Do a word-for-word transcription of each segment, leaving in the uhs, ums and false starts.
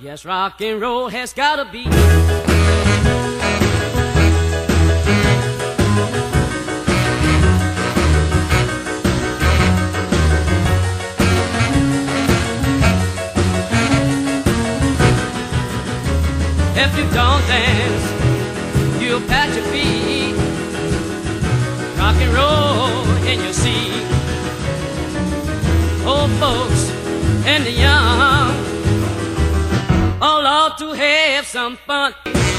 Yes, rock and roll has gotta be. If you don't dance, you'll pat your feet. Rock and roll in your seat. Old folks and the young all ought to have some fun.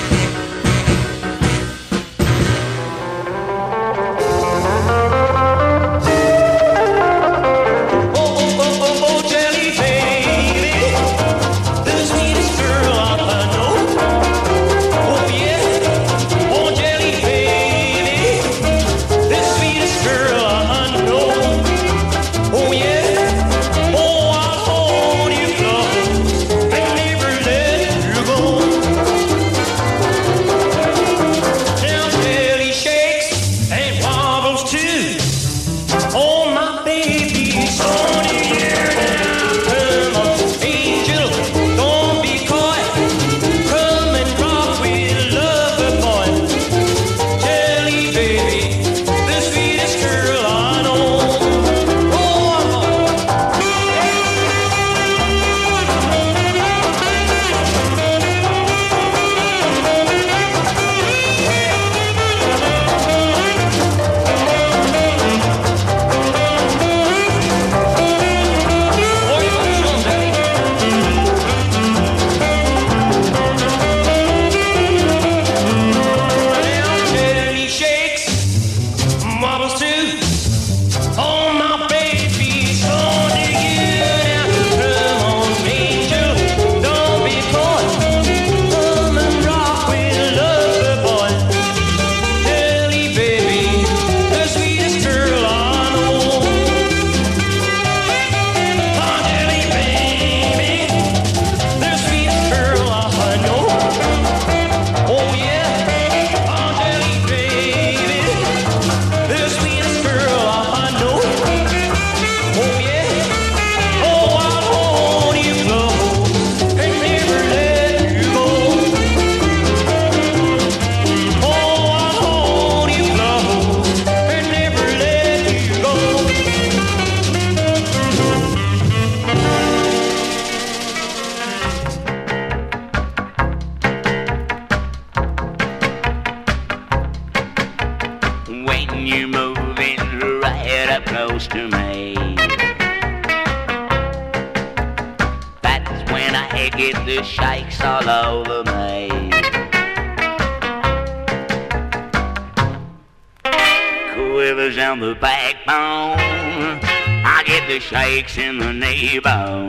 Shakes in the knee bone,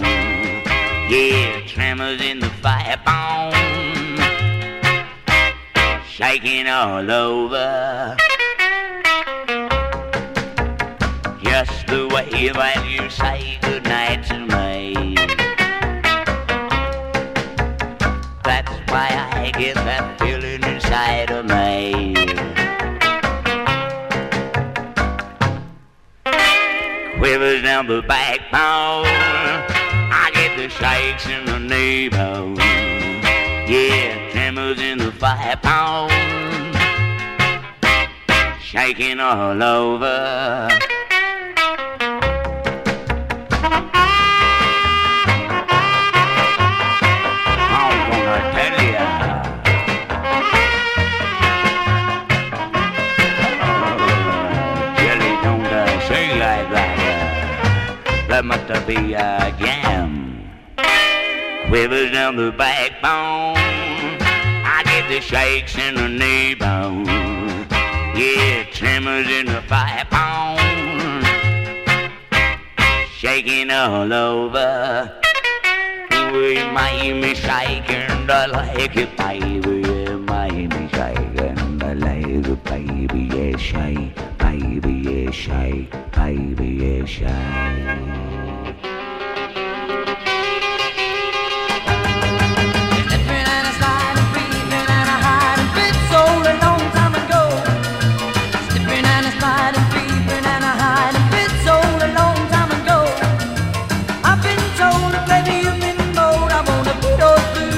yeah, tremors in the fire bone, shaking all over, just the way that you say goodnight to me. That's why I get that feeling inside of me. Quivers down the backbone, I get the shakes in the knee bone, yeah, tremors in the fire bone, shaking all over. I'm gonna tell ya, oh, Jelly, don't uh, say like that. That must be a jam. Quivers down the backbone, I get the shakes in the knee bone, yeah, tremors in the fire bone, shaking all over. You made me shake and I like it, baby. You made me shake and I like it, baby. Yeah, shake, baby. Yeah, shake, baby. Yeah, shake. Baby, you've been bold. I wanna put those blues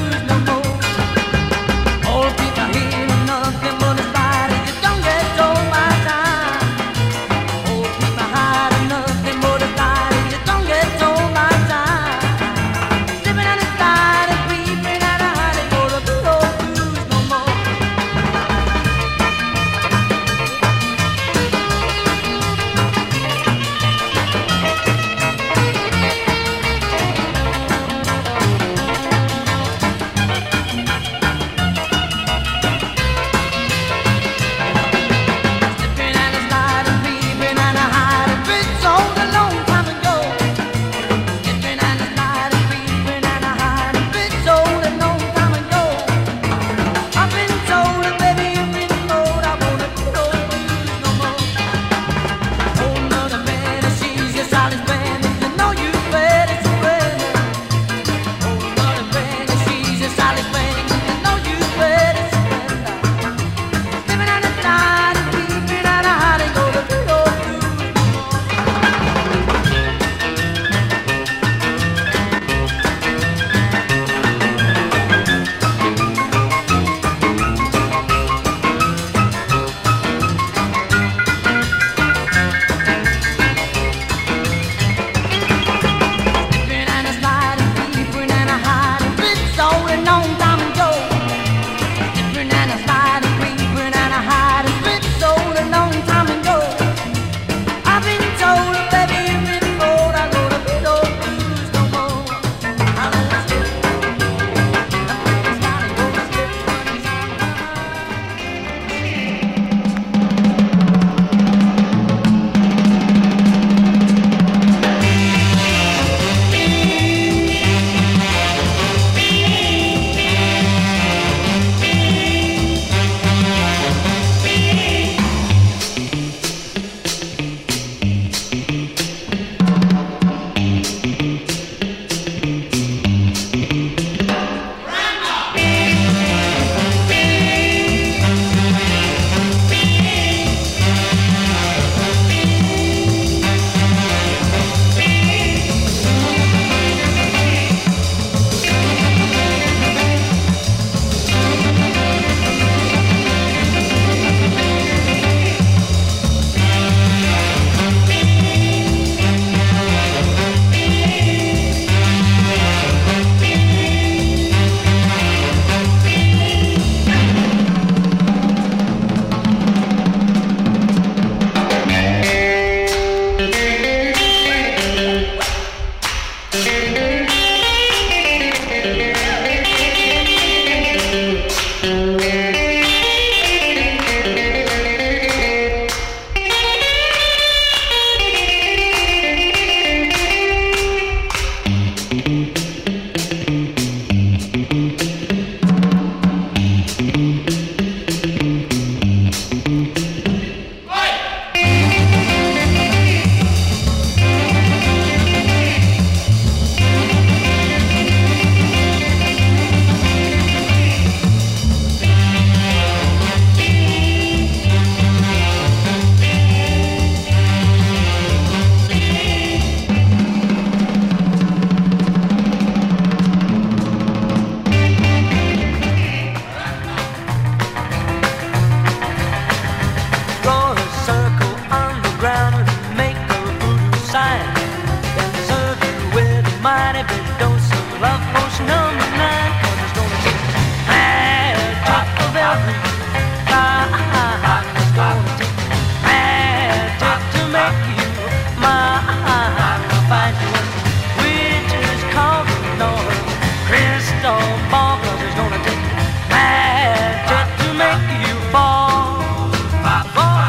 crystal ball, 'cause it's gonna take magic to make you fall. Fall.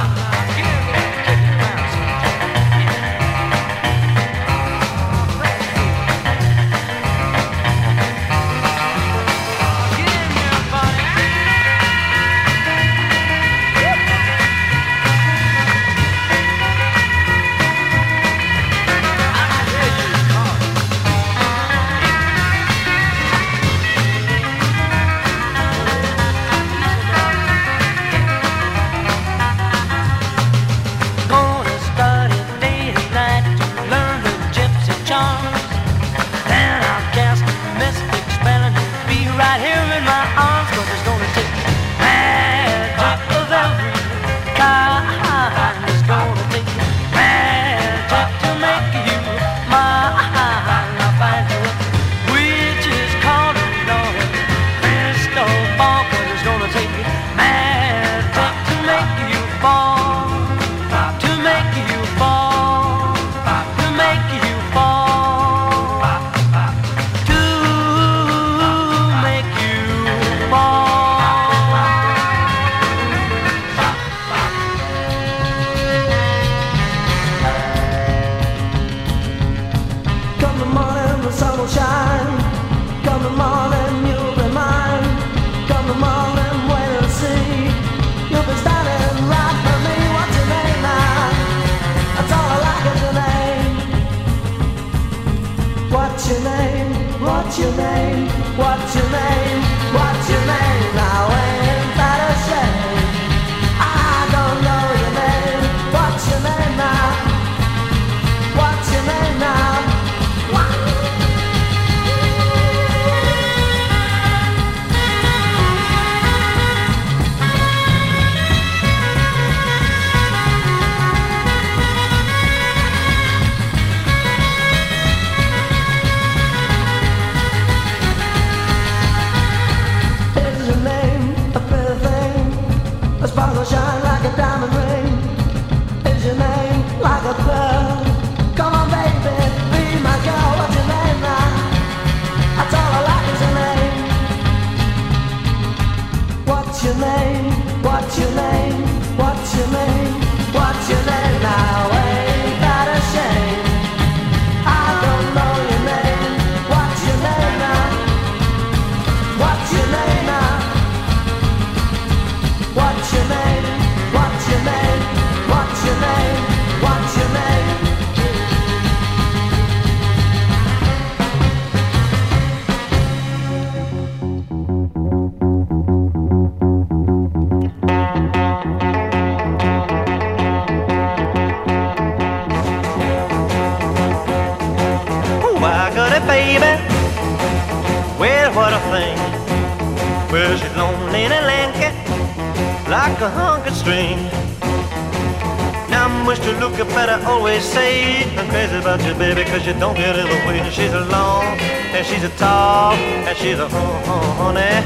You don't get in the way. She's a long and she's a tall and she's a honey.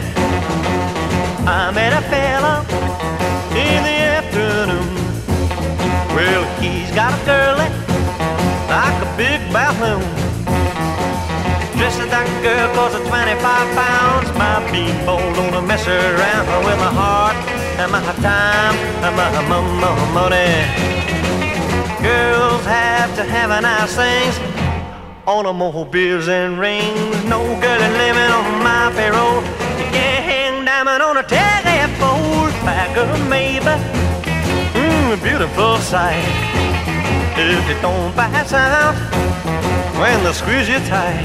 I met a fella in the afternoon. Well, he's got a girlie like a big balloon. Dressed like that girl cause of twenty-five pounds. My beanpole don't mess around with my heart and my time and my, my, my money. Girls have to have a nice things, automobiles and rings. No girl is living on my payroll. You can't hang diamond on a telephone. Like a maybe, mmm, a beautiful sight. If you don't pass out when they squeeze you tight.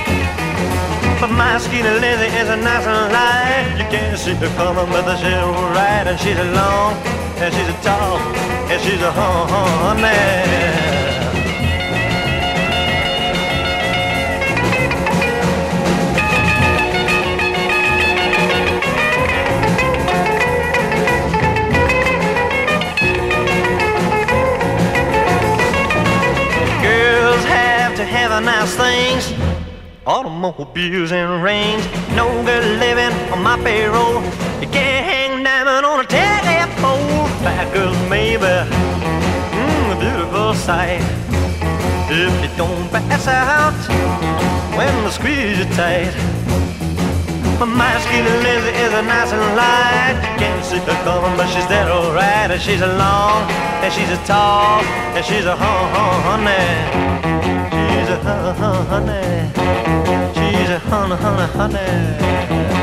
But my skinny lady is a nice and light. You can't see her coming, but she's right. And she's a long, and she's a tall, and she's a honey. Nice things, automobiles and rings. No girl living on my payroll. You can't hang diamond on a telephone. Bad girls maybe, mmm, a beautiful sight. If you don't pass out when they squeeze you tight. My skinny Lizzie is a nice and light. Can't see her coming, but she's dead alright. And she's a long, and she's a tall, and she's a hun hun honey. She's a hun hun honey. She's a hun hun honey.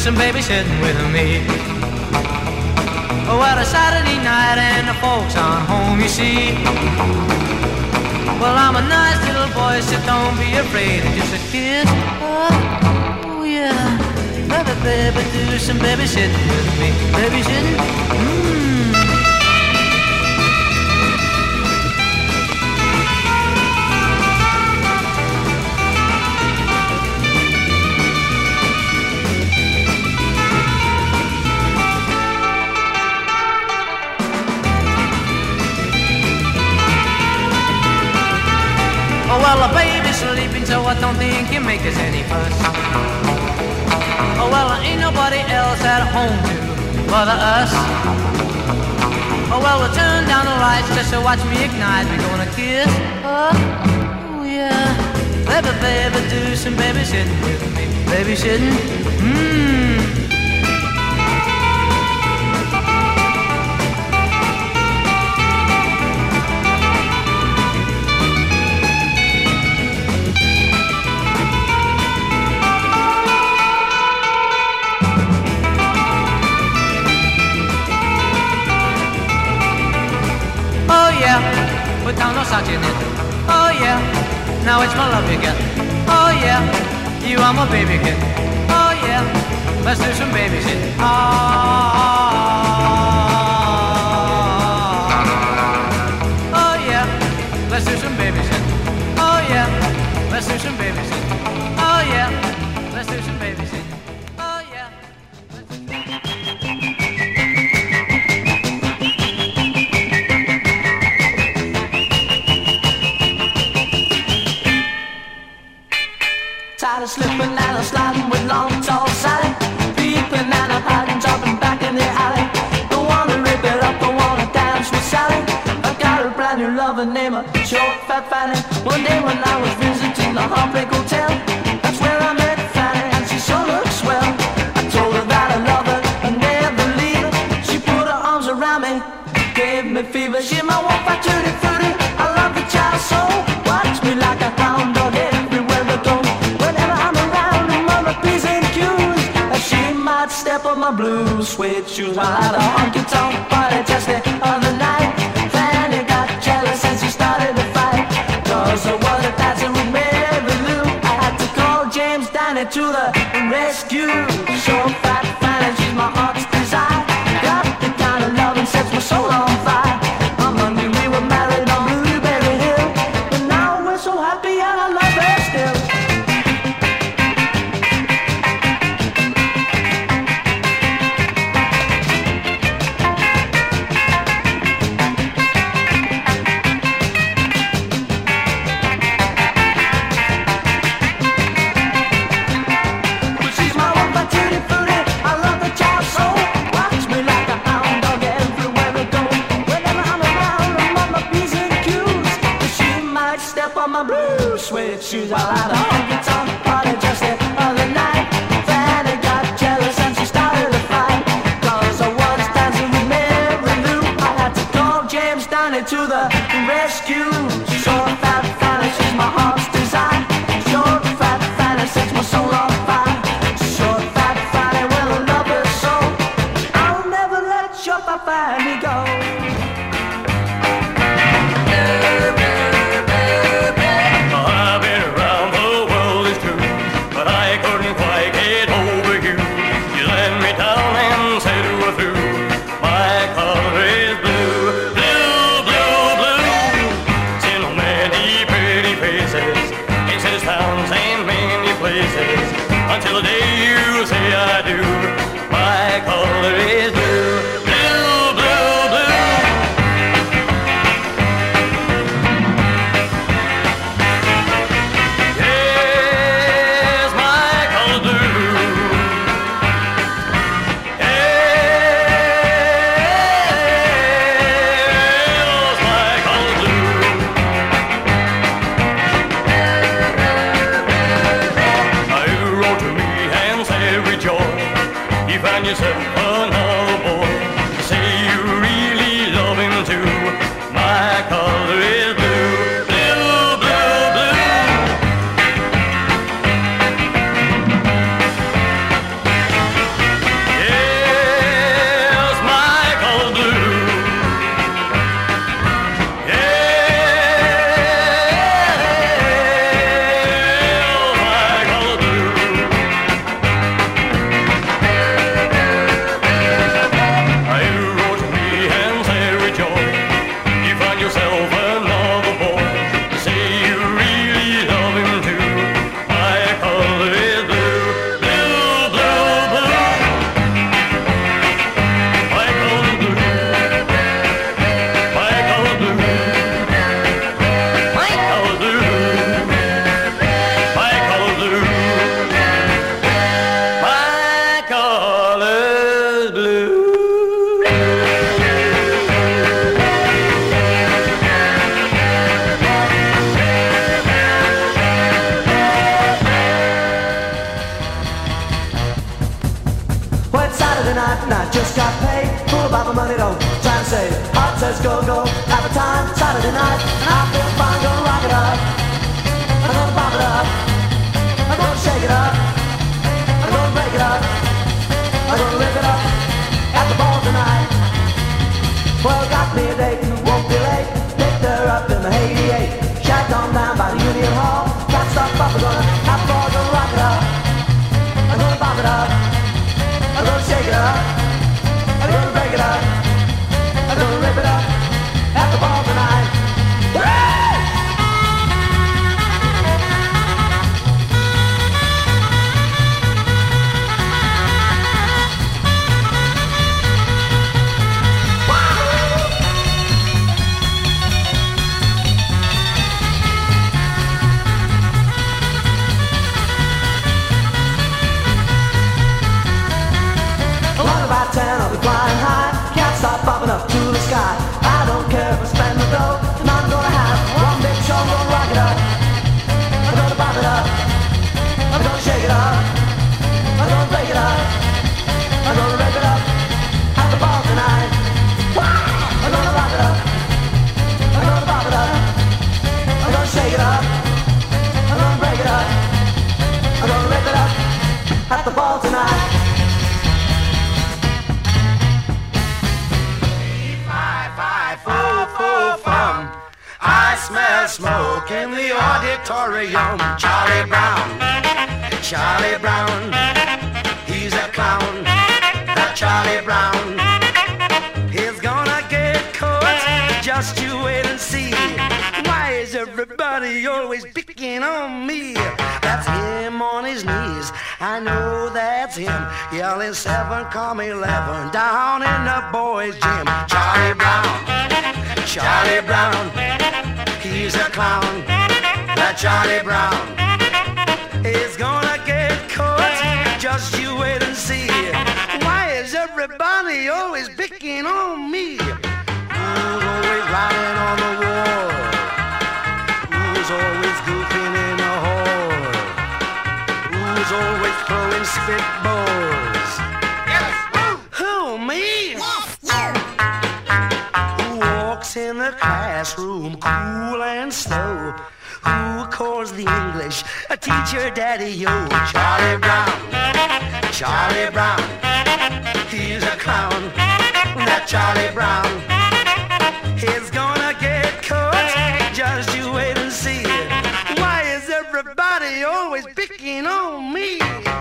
some babysitting with me. Well, a Saturday night and the folks aren't home, you see. Well, I'm a nice little boy, so don't be afraid of just a kiss. Oh, oh yeah. Baby, baby, do some babysitting with me. Babysitting? Mmm. Oh, well, the baby's sleeping, so I don't think you make us any fuss. Oh, well, there ain't nobody else at home to bother us. Oh, well, we'll turn down the lights just to watch me ignite. We're gonna kiss. Oh, oh yeah. Baby, baby, do some babysitting with me. Babysitting? Mmm. Put down no socks in it. Oh yeah, now it's my love you get. Oh yeah, you are my baby kid. Oh yeah, let's do some babysitting. Oh, oh yeah, let's do some babysitting. Oh yeah, let's do some babysitting. Oh yeah, let's do some babysitting. Oh yeah. Tired of slipping and a sliding with long tall Sally, peeping and a hiding, dropping back in the alley. Don't wanna rip it up, don't wanna dance with Sally. I got a brand new lover named Short Fat Fanny. One day when I was visiting the Heartbreak Hotel, that's where I met Fanny, and she sure looks swell. I told her that I love her and never leave her. She put her arms around me, gave me fever. She's my one fat tutti frutti. I love the child so, watch me like a hound dog everywhere I go. Step on my blue suede shoes while at a honky-tonk party just the other night. Fanny got jealous and she started to fight, cause I was dancing with Mary Lou. I had to call James Danny to the rescue. Short fat Fanny, she's my heart's desire. Got the kind of love that sets my soul on fire. I'm hungry, we were married on Blueberry Hill, but now we're so happy and I love her still. Suede shoes while at a honky-tonk party just the other night. Fanny got jealous and she started to fight, cause I was dancing with Mary Lou. I had to call James Danny to the rescue. Short fat Fanny, she's my heart's desire. Short fat Fanny sets my soul on fire. Short fat Fanny, well I love her so, I'll never let short fat Fanny go. Until the day you say I do, my color is blue, blue, blue, blue. tonight, and I feel fine, gonna rock it up. I'm gonna pop it up. I'm gonna shake it up. I'm gonna break it up. I'm gonna rip it up at the ball tonight. Well, got me a date, won't be late. Picked her up in the eighty-eight. Shacked on down by the Union Hall. Got stuff up, I'm gonna have the ball, gonna rock it up. I'm gonna pop it up. I'm gonna shake it up. I'm gonna break it up. I'm gonna rip it up at the ball tonight. ten, I'll be flying high. Can't stop popping up to the sky. I don't care if I spend the dough, and I'm gonna have one big show. I'm gonna rock it up. I'm gonna pop it up. I'm gonna shake it up. I'm gonna break it up. I'm gonna rip it up at the ball tonight. I'm gonna rock it up. I'm gonna pop it up. I'm gonna shake it up. I'm gonna break it up. I'm gonna rip it up at the ball tonight. I smell smoke in the auditorium. Charlie Brown, Charlie Brown, he's a clown. That Charlie Brown, he's gonna get caught. Just you wait and see. Why is everybody always picking on me? That's him on his knees. I know that's him. Yelling seven, come eleven down in the boys' gym. Charlie Brown, Charlie Brown, he's a clown. That Charlie Brown is gonna get caught. Just you wait and see. Why is everybody always picking on me? Who's always riding on the wall? Who's always goofing in the hall? Who's always throwing spitballs? Yes, who? Who, me? Yes, you. Who walks in the classroom cool and slow? Who calls the English a teacher daddy-o? Charlie Brown, Charlie Brown, he's a clown. That Charlie Brown is gonna get caught. Just you wait and see. Why is everybody always picking on me?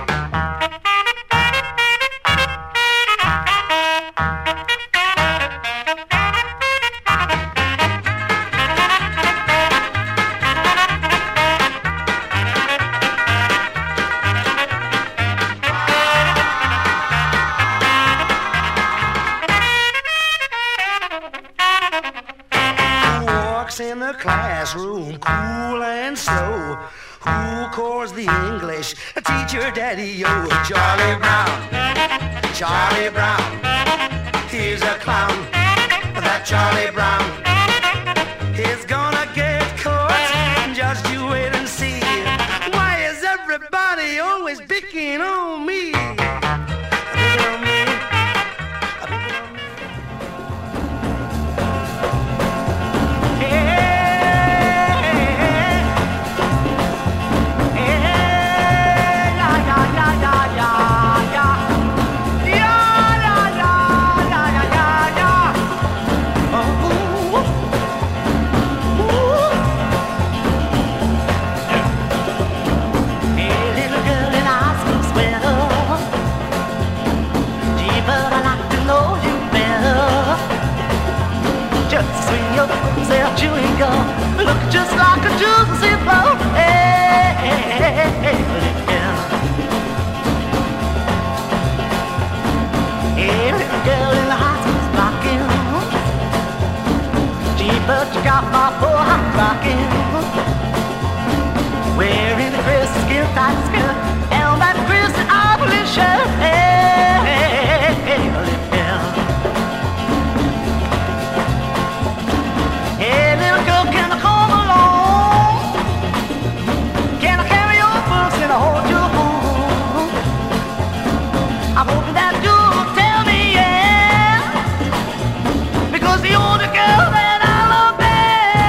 In the classroom, cool and slow. Who calls the English a teacher daddy-o? Charlie Brown, Charlie Brown, he's a clown. That Charlie Brown is gonna get caught. Just you wait and see. Why is everybody always picking on me? Picking on me. Picking on me. Chewing gum, look just like a juicy flow. Hey, hey, hey, hey, yeah. Hey, little girl in the high school's rocking. Gee, but you got my poor heart rocking. Wearing the crisp skin tight skirt and that crisp ugly shirt. Hey, hey, hey, hey, yeah. Hey, little girl, can I come along? Can I carry your books and hold you home? I'm hoping that you'll tell me, yeah, because you're the girl that I love best.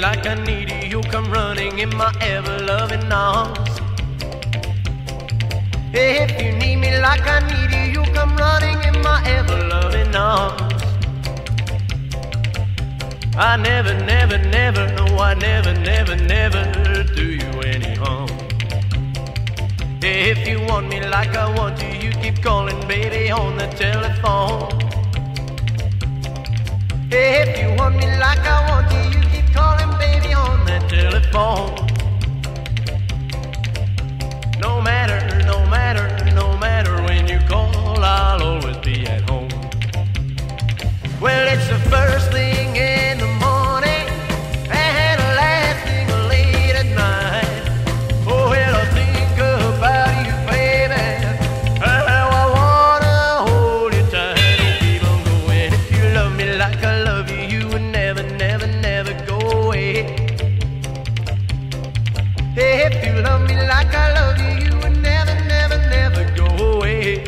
like I need you, you'll come running in my ever-loving arms. If you need me like I need you, you'll come running in my ever-loving arms. I never, never, never, no, I never, never, never do you any harm. If you want me like I want you, you keep calling, baby, on the telephone. If you want me like I want you, you keep calling, baby, on the telephone. No matter, no matter, no matter when you call, I'll always be at home. Well, it's the first thing in the morning and the last thing late at night. Oh, well, I think about you, baby, how I wanna hold you tight. Oh, keep on going. If you love me like I love you, you would never, never, never go away. If you love me like I love you, you would never, never, never go away.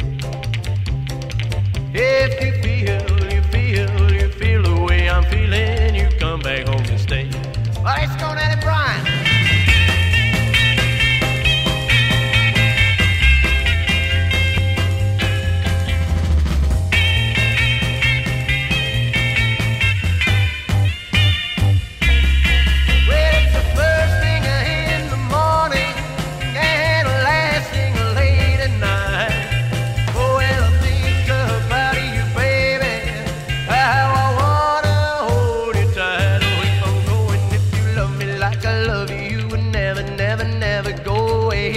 If you feel, you feel, you feel the way I'm feeling, you come back home and stay. Well, let's go at it, Brian. Well, it's the first thing in the morning and the last thing late at night. Oh, well, I think about you, baby, how I wanna hold you tight. Oh, if I'm going, if you love me like I love you, you would never, never, never go away.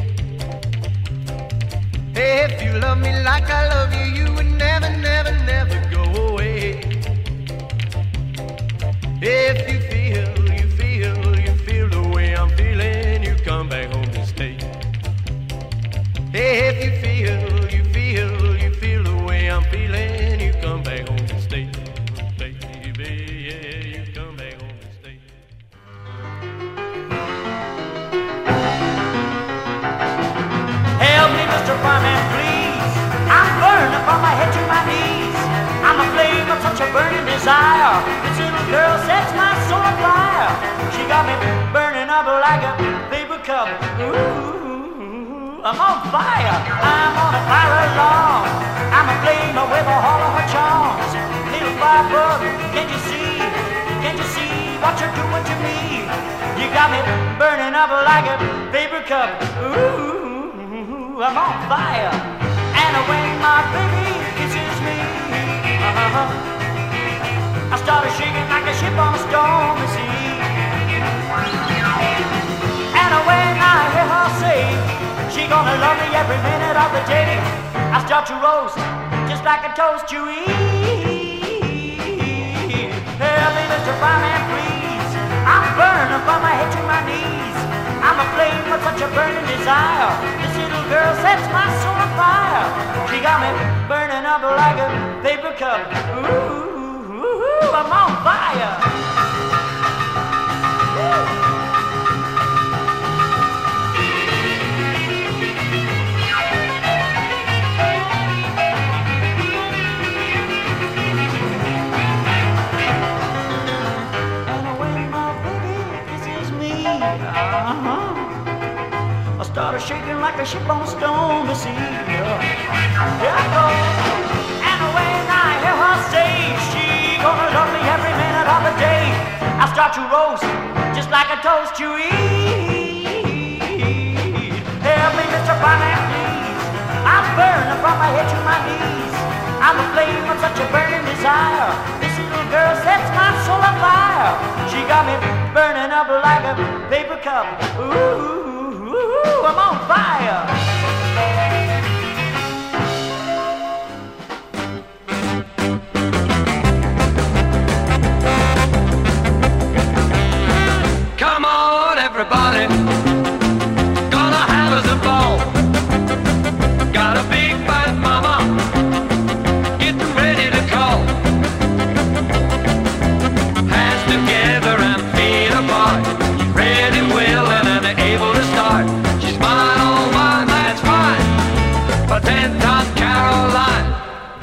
If you love me like I love you, you would never, never, never go away. If you feel, you feel, you feel the way I'm feeling, you come back home to stay. If you feel, you feel, you feel the way I'm feeling, you come back home to stay. Baby, yeah, you come back home to stay. Help me, Mister Fireman, please. I'm burning from my head to my knees. I'm a flame of such a burning desire. This little girl sets my soul on fire. She got me burning up like a paper cup. Ooh, I'm on fire. I'm on a fire along. I'm a flame with all of her charms. Little firebug, can't you see? Can't you see what you're doing to me? You got me burning up like a paper cup. Ooh, I'm on fire. And when my baby kisses me, uh-huh, I started shaking like a ship on a stormy sea. And when I hear her say she gonna love me every minute of the day, I start to roast just like a toast to eat. Help me, Mister Fireman, please. I'm burning from my head to my knees. I'm aflame with such a burning desire. This little girl sets my soul on fire. She got me burning up like a paper cup. Ooh, I'm on fire. And when my baby kisses me, uh-huh, I started shaking like a ship on a stormy sea. Yeah, yeah I go. And when I hear her say she gonna love me every minute of the day, I start to roast just like a toast to eat. Help me, Mister Fireman, please. I'm burning from my head to my knees. I'm a flame of such a burning desire. This little girl sets my soul on fire. She got me burning up like a paper cup. Ooh, I'm on fire. Come on, everybody, gonna have us a ball. Got a big fat mama, getting ready to call. Hands together and feet apart, ready, willing, and able to start. She's mine, all mine, that's fine, for ten-ton Caroline.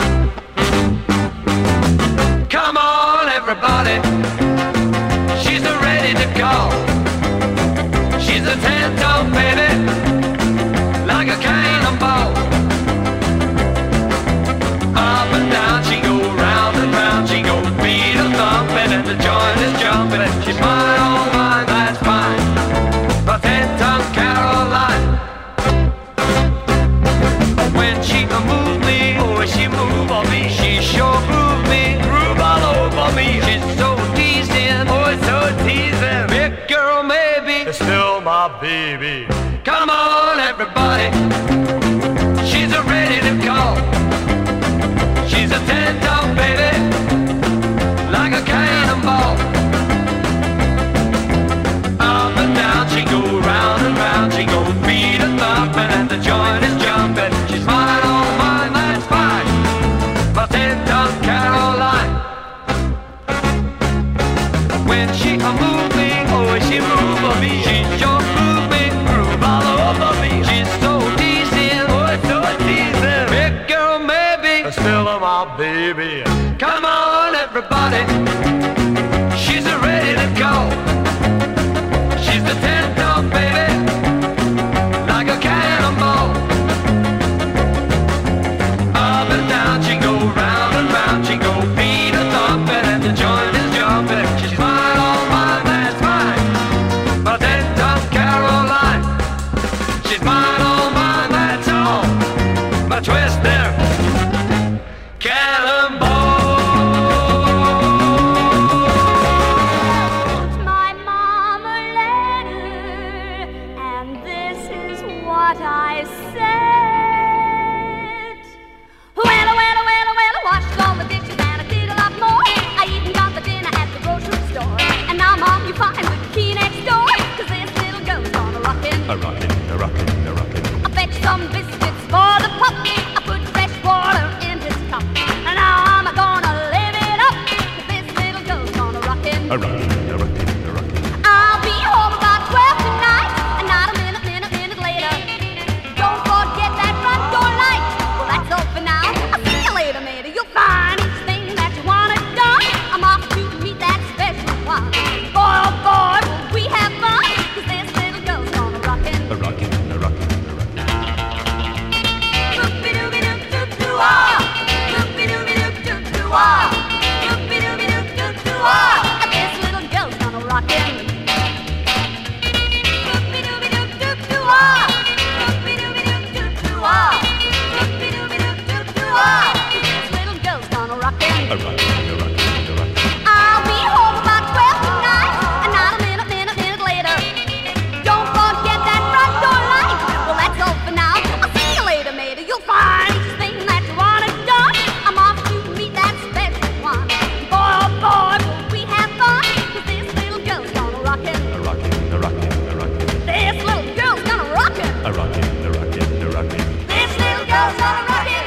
Come on, everybody, she's the top, baby. Come on, everybody. She's ready to go. She's the ten top, baby, like a cannonball. Up and down she go, round and round she go, feet are thumping and the joint is jumping. She's mine, all mine, that's mine, my ten top Caroline. She's mine, all mine, that's all, my twister cannonball. My mama letter, and this is what I said. Well, well, well, well, I washed all the dishes and I did a lot more. I even got the dinner at the grocery store. And now, Mom, you find the key next door, 'cause this little girl's gonna rockin'. A rockin', a rockin', a rockin'. I fetched some biscuits for the pup. I put fresh water in his cup. And now I'm gonna live it up, 'cause this little girl's gonna rockin'. A rockin', a rockin', a rockin'. I'll be home about twelve tonight, and not a minute, minute, minute later. Don't forget that front door light. Well, that's all for now. I'll see you later, matey. You'll find each thing that you wanted done. I'm off to meet that special one. Boy, oh boy, will we have fun, 'cause this little girl's gonna rockin'. A rockin', a rockin', a rockin'. Loop-de-dooby-doop-doop-doo-ah. Loop-de-dooby-doop-doop-doo-ah. Loop-de-dooby-doop-doop-doo-ah. This little girl's gonna rockin'. Loop-de-dooby-doop-doop-doo-ah. Loop-de-dooby-doop-doop-doo-ah. Loop-de-dooby-doop-doop-doo-ah. This little girl's gonna rockin'. A rockin', a rockin', a rockin'. I'll be home about twelve tonight, and not a minute, minute, minute later. Don't forget that front door light. Well, that's all for now. I'll see you later, matey. You'll find each thing that you wanted done. I'm off to meet that special one. Boy, oh boy, will we have fun, 'cause this little girl's gonna rockin'. A rockin', a rockin', a rockin'. This little girl's gonna rockin'. A rockin', a rockin', a rockin'. This little girl's gonna rockin'.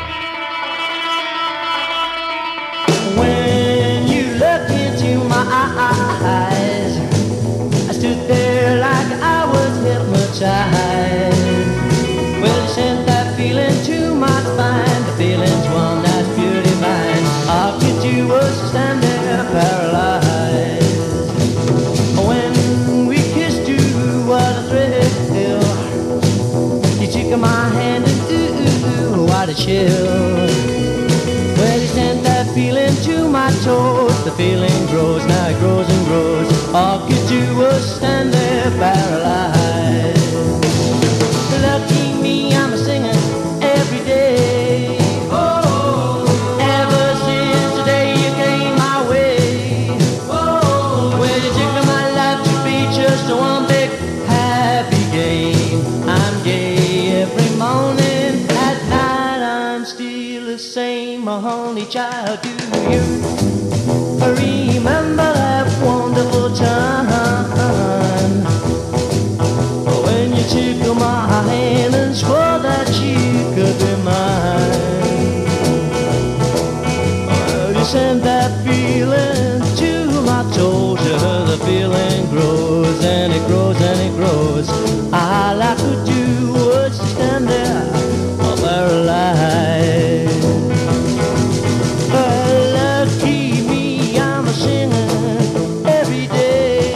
When you looked into my eyes, I stood there like I was hypnotized. Well, you sent that feeling to my spine, the feeling's one that's pure divine. How could you was stand there paralyzed? When we kissed, you what a thrill. You took my hand and ooh, ooh, ooh, what a chill. Well, you sent that feeling to my toes. The feeling grows, now it grows and grows. All could do was stand there paralyzed. Lucky me, I'm a singing every day. Oh, ever since the day you came my way. Oh, well, you took my life to be just one big happy game. I'm gay every morning, at night I'm still the same. My only child, do you remember that wonderful time when you took my hand and swore that you could be mine? Well, you sent that feeling to my toes. Yeah, the feeling grows and it grows and it grows. All I could do was stand there paralyzed. Lucky me, I'm a singing every day.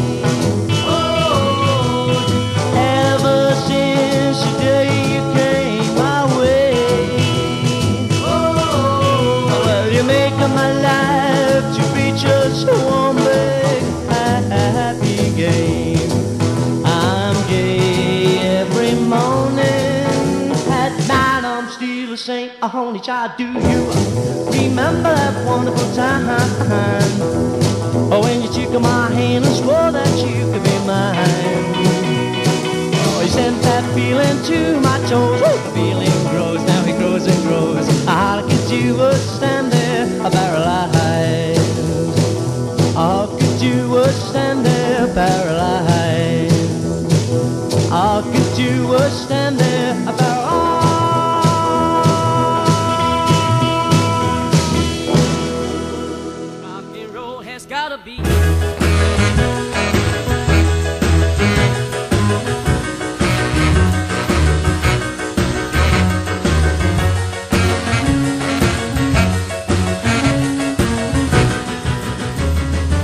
Oh, ever since the day you came my way. Oh, well, you make my life to be just one big happy game. I'm gay every morning, at night I'm still the same. A only child, do you remember that wonderful time? Oh, when you took my hand and swore that you could be mine. Oh, you sent that feeling to my toes. Oh, the feeling grows, now it grows and grows. All I could do was stand there paralyzed. All I could do was stand there paralyzed. All I could do was stand there paralyzed. Rock and roll has gotta be.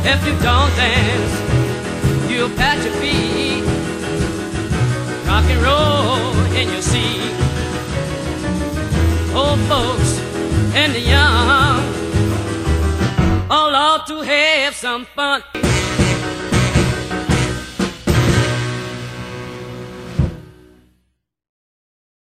If you don't dance, you'll pat your feet. Rock and roll in your seat. Old folks and the young all ought to have some fun.